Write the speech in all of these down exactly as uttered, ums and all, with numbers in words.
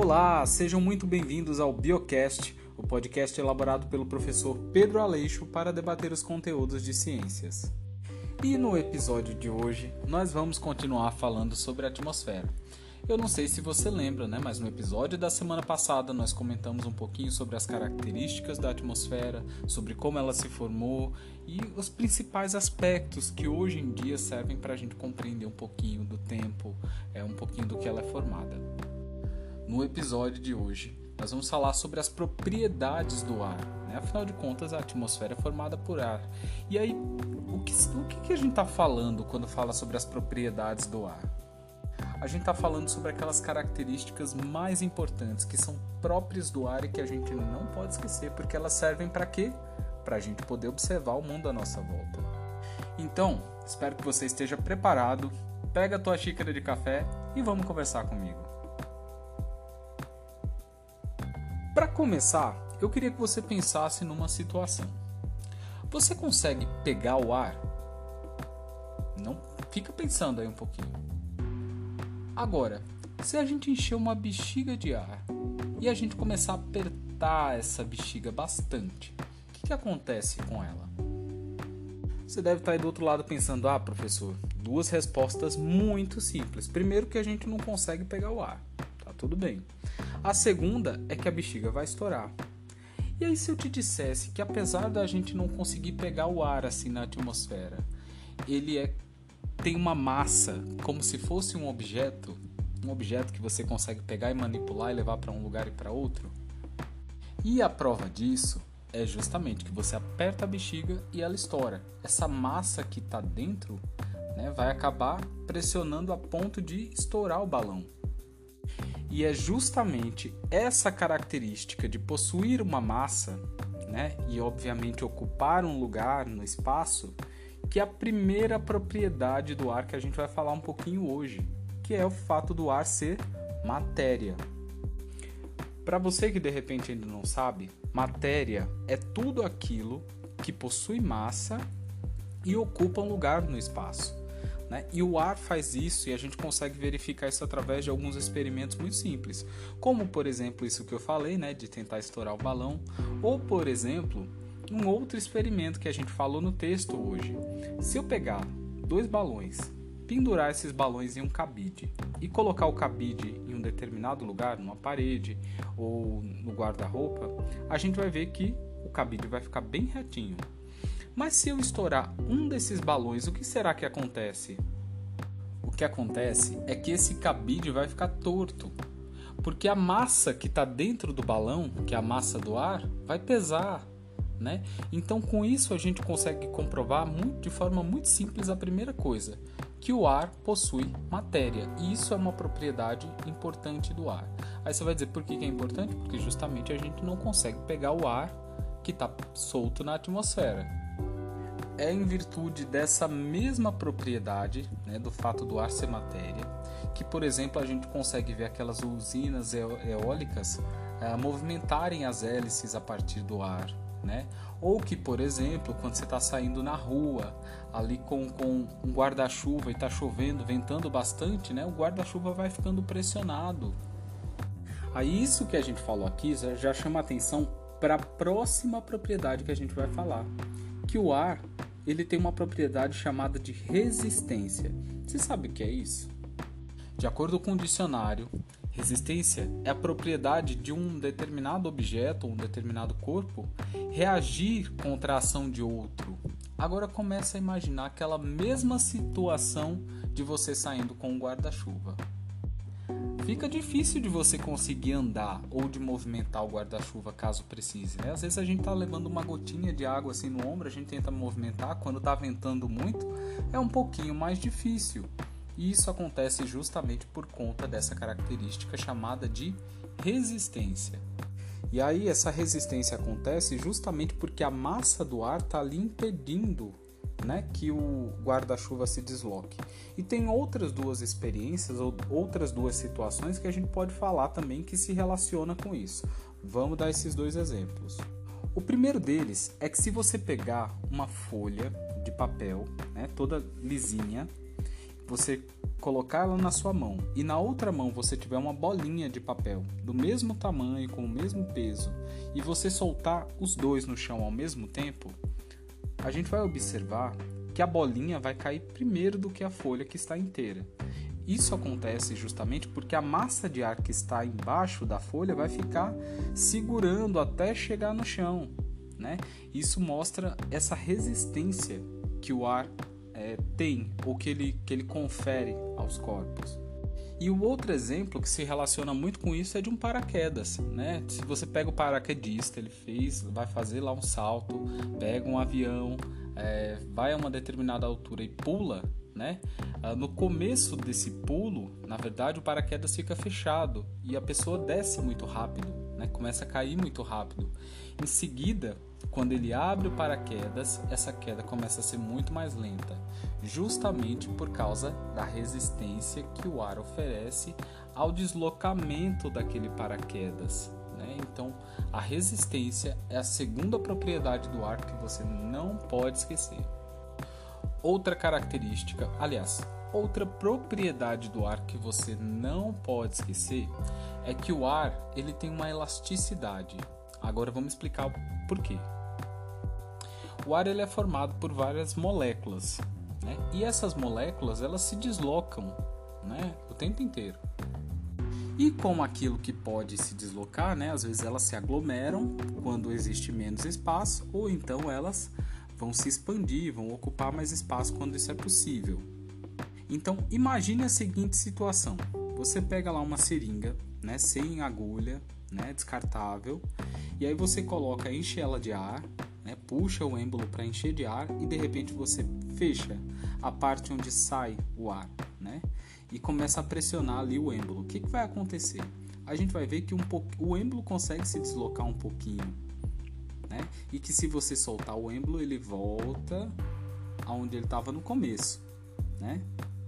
Olá, sejam muito bem-vindos ao Biocast, o podcast elaborado pelo professor Pedro Aleixo para debater os conteúdos de ciências. E no episódio de hoje, nós vamos continuar falando sobre a atmosfera. Eu não sei se você lembra, né? Mas no episódio da semana passada nós comentamos um pouquinho sobre as características da atmosfera, sobre como ela se formou e os principais aspectos que hoje em dia servem para a gente compreender um pouquinho do tempo, é, um pouquinho do que ela é formada. No episódio de hoje, nós vamos falar sobre as propriedades do ar, né? Afinal de contas, a atmosfera é formada por ar. E aí, o que, o que a gente está falando quando fala sobre as propriedades do ar? A gente está falando sobre aquelas características mais importantes que são próprias do ar e que a gente não pode esquecer, porque elas servem para quê? Para a gente poder observar o mundo à nossa volta. Então, espero que você esteja preparado, pega a tua xícara de café e vamos conversar comigo. Para começar, eu queria que você pensasse numa situação. Você consegue pegar o ar? Não? Fica pensando aí um pouquinho. Agora, se a gente encher uma bexiga de ar e a gente começar a apertar essa bexiga bastante, o que, que acontece com ela? Você deve estar aí do outro lado pensando, ah, professor, duas respostas muito simples. Primeiro que a gente não consegue pegar o ar, tá tudo bem. A segunda é que a bexiga vai estourar. E aí se eu te dissesse que apesar da gente não conseguir pegar o ar assim na atmosfera, ele é tem uma massa, como se fosse um objeto, um objeto que você consegue pegar e manipular e levar para um lugar e para outro. E a prova disso é justamente que você aperta a bexiga e ela estoura. Essa massa que está dentro, né, vai acabar pressionando a ponto de estourar o balão. E é justamente essa característica de possuir uma massa, né, e obviamente ocupar um lugar no espaço, que é a primeira propriedade do ar que a gente vai falar um pouquinho hoje, que é o fato do ar ser matéria. Para você que de repente ainda não sabe, matéria é tudo aquilo que possui massa e ocupa um lugar no espaço, né? E o ar faz isso e a gente consegue verificar isso através de alguns experimentos muito simples, como por exemplo isso que eu falei, né, de tentar estourar o balão, ou por exemplo um outro experimento que a gente falou no texto hoje. Se eu pegar dois balões, pendurar esses balões em um cabide e colocar o cabide em um determinado lugar, numa parede ou no guarda-roupa, a gente vai ver que o cabide vai ficar bem retinho. Mas se eu estourar um desses balões, o que será que acontece? O que acontece é que esse cabide vai ficar torto, porque a massa que está dentro do balão, que é a massa do ar, vai pesar. Né? Então, com isso, a gente consegue comprovar muito, de forma muito simples a primeira coisa, que o ar possui matéria. E isso é uma propriedade importante do ar. Aí você vai dizer, por que é importante? Porque justamente a gente não consegue pegar o ar que está solto na atmosfera. É em virtude dessa mesma propriedade, né, do fato do ar ser matéria, que, por exemplo, a gente consegue ver aquelas usinas eólicas eh, movimentarem as hélices a partir do ar. Né? Ou que, por exemplo, quando você está saindo na rua ali com, com um guarda-chuva e está chovendo, ventando bastante, né? O guarda-chuva vai ficando pressionado. Aí isso que a gente falou aqui já, já chama atenção para a próxima propriedade que a gente vai falar, que o ar ele tem uma propriedade chamada de resistência. Você sabe o que é isso? De acordo com o dicionário, resistência é a propriedade de um determinado objeto ou um determinado corpo reagir contra a ação de outro. Agora começa a imaginar aquela mesma situação de você saindo com um guarda-chuva. Fica difícil de você conseguir andar ou de movimentar o guarda-chuva caso precise, né? Às vezes a gente está levando uma gotinha de água assim no ombro, a gente tenta movimentar, quando está ventando muito é um pouquinho mais difícil. E isso acontece justamente por conta dessa característica chamada de resistência. E aí essa resistência acontece justamente porque a massa do ar está ali impedindo, né, que o guarda-chuva se desloque. E tem outras duas experiências, ou outras duas situações que a gente pode falar também que se relaciona com isso. Vamos dar esses dois exemplos. O primeiro deles é que se você pegar uma folha de papel, né, toda lisinha, você colocar ela na sua mão e na outra mão você tiver uma bolinha de papel do mesmo tamanho, com o mesmo peso, e você soltar os dois no chão ao mesmo tempo, a gente vai observar que a bolinha vai cair primeiro do que a folha que está inteira. Isso acontece justamente porque a massa de ar que está embaixo da folha vai ficar segurando até chegar no chão, né? Isso mostra essa resistência que o ar é, tem, ou que ele, que ele confere aos corpos. E o outro exemplo que se relaciona muito com isso é de um paraquedas, né? Se você pega o paraquedista, ele fez, vai fazer lá um salto, pega um avião, é, vai a uma determinada altura e pula, né? No começo desse pulo, na verdade, o paraquedas fica fechado e a pessoa desce muito rápido, né? Começa a cair muito rápido. Em seguida, quando ele abre o paraquedas, essa queda começa a ser muito mais lenta, justamente por causa da resistência que o ar oferece ao deslocamento daquele paraquedas, né? Então, a resistência é a segunda propriedade do ar que você não pode esquecer. Outra característica, aliás, outra propriedade do ar que você não pode esquecer é que o ar ele tem uma elasticidade. Agora vamos explicar o porquê. O ar ele é formado por várias moléculas, né? E essas moléculas elas se deslocam, né, o tempo inteiro. E como aquilo que pode se deslocar, né, às vezes elas se aglomeram quando existe menos espaço, ou então elas vão se expandir, vão ocupar mais espaço quando isso é possível. Então, imagine a seguinte situação. Você pega lá uma seringa, né, sem agulha, né, descartável, e aí você coloca, enche ela de ar, né, puxa o êmbolo para encher de ar e de repente você fecha a parte onde sai o ar, né, e começa a pressionar ali o êmbolo. O que, que vai acontecer? A gente vai ver que um po... o êmbolo consegue se deslocar um pouquinho, né? E que se você soltar o êmbolo, ele volta aonde ele estava no começo, né?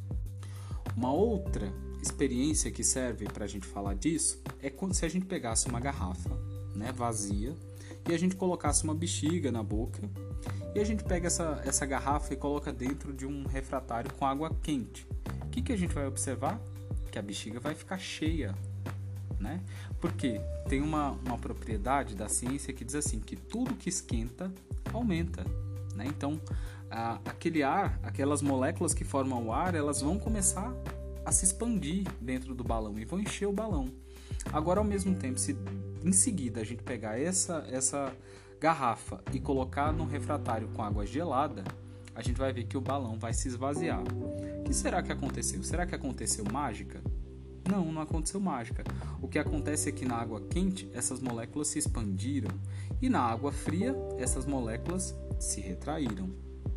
Uma outra experiência que serve para a gente falar disso é quando, se a gente pegasse uma garrafa, né, vazia e a gente colocasse uma bexiga na boca e a gente pega essa, essa garrafa e coloca dentro de um refratário com água quente. O que, que a gente vai observar? Que a bexiga vai ficar cheia, né? Porque tem uma, uma propriedade da ciência que diz assim, que tudo que esquenta aumenta, né? Então, a, aquele ar, aquelas moléculas que formam o ar, elas vão começar a se expandir dentro do balão e vão encher o balão. Agora, ao mesmo tempo, se em seguida a gente pegar essa, essa garrafa e colocar no refratário com água gelada, a gente vai ver que o balão vai se esvaziar. O que será que aconteceu? Será que aconteceu mágica? Não, não aconteceu mágica. O que acontece é que na água quente, essas moléculas se expandiram e na água fria, essas moléculas se retraíram.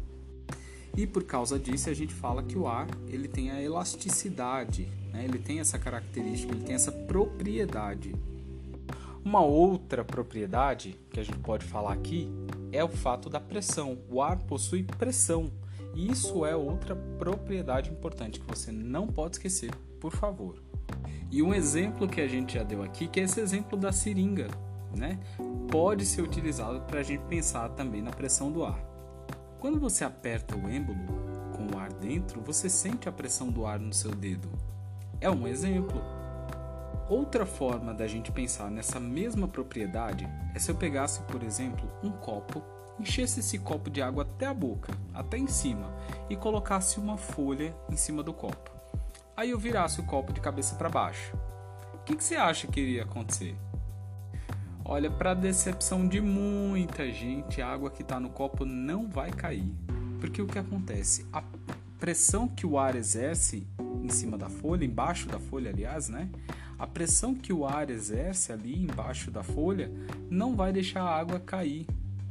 E por causa disso, a gente fala que o ar ele tem a elasticidade, né? Ele tem essa característica, ele tem essa propriedade. Uma outra propriedade que a gente pode falar aqui é o fato da pressão. O ar possui pressão. E isso é outra propriedade importante que você não pode esquecer, por favor. E um exemplo que a gente já deu aqui, que é esse exemplo da seringa, né? Pode ser utilizado para a gente pensar também na pressão do ar. Quando você aperta o êmbolo com o ar dentro, você sente a pressão do ar no seu dedo. É um exemplo. Outra forma da gente pensar nessa mesma propriedade é se eu pegasse, por exemplo, um copo, enchesse esse copo de água até a boca, até em cima, e colocasse uma folha em cima do copo. Aí eu virasse o copo de cabeça para baixo. O que, que você acha que iria acontecer? Olha, para decepção de muita gente, a água que está no copo não vai cair. Porque o que acontece? A pressão que o ar exerce em cima da folha, embaixo da folha, aliás, né? A pressão que o ar exerce ali embaixo da folha não vai deixar a água cair.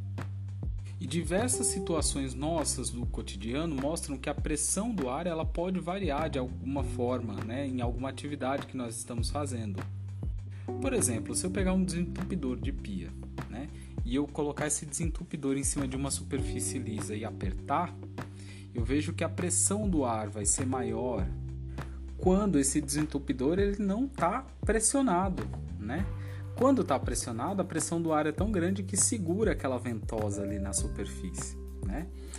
E diversas situações nossas do cotidiano mostram que a pressão do ar ela pode variar de alguma forma, né, em alguma atividade que nós estamos fazendo. Por exemplo, se eu pegar um desentupidor de pia, né, e eu colocar esse desentupidor em cima de uma superfície lisa e apertar, eu vejo que a pressão do ar vai ser maior quando esse desentupidor ele não está pressionado, né? Quando está pressionado, a pressão do ar é tão grande que segura aquela ventosa ali na superfície, né?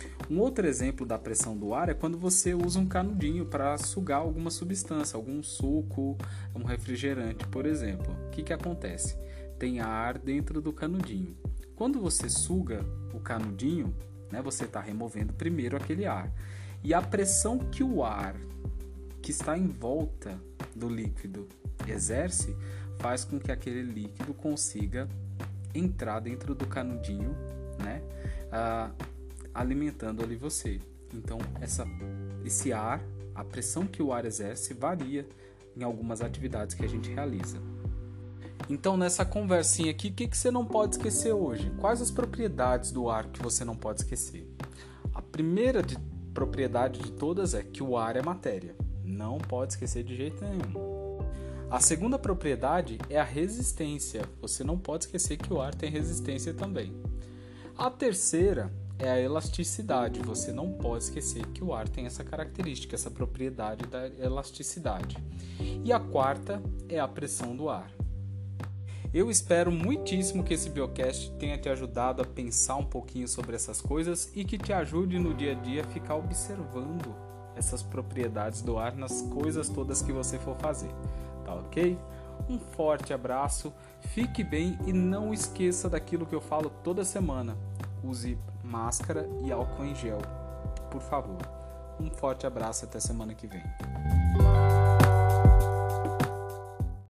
Um outro exemplo da pressão do ar é quando você usa um canudinho para sugar alguma substância, algum suco, um refrigerante, por exemplo. O que que acontece? Tem ar dentro do canudinho. Quando você suga o canudinho, né, você está removendo primeiro aquele ar. E a pressão que o ar que está em volta do líquido exerce faz com que aquele líquido consiga entrar dentro do canudinho, né, ah, alimentando ali você. Então, essa, esse ar, a pressão que o ar exerce varia em algumas atividades que a gente realiza. Então, nessa conversinha aqui, o que, que você não pode esquecer hoje? Quais as propriedades do ar que você não pode esquecer? A primeira de, propriedade de todas é que o ar é matéria. Não pode esquecer de jeito nenhum. A segunda propriedade é a resistência. Você não pode esquecer que o ar tem resistência também. A terceira é a elasticidade. Você não pode esquecer que o ar tem essa característica, essa propriedade da elasticidade. E a quarta é a pressão do ar. Eu espero muitíssimo que esse Biocast tenha te ajudado a pensar um pouquinho sobre essas coisas e que te ajude no dia a dia a ficar observando essas propriedades do ar nas coisas todas que você for fazer. Tá ok? Um forte abraço, fique bem e não esqueça daquilo que eu falo toda semana. Use máscara e álcool em gel, por favor. Um forte abraço, até semana que vem.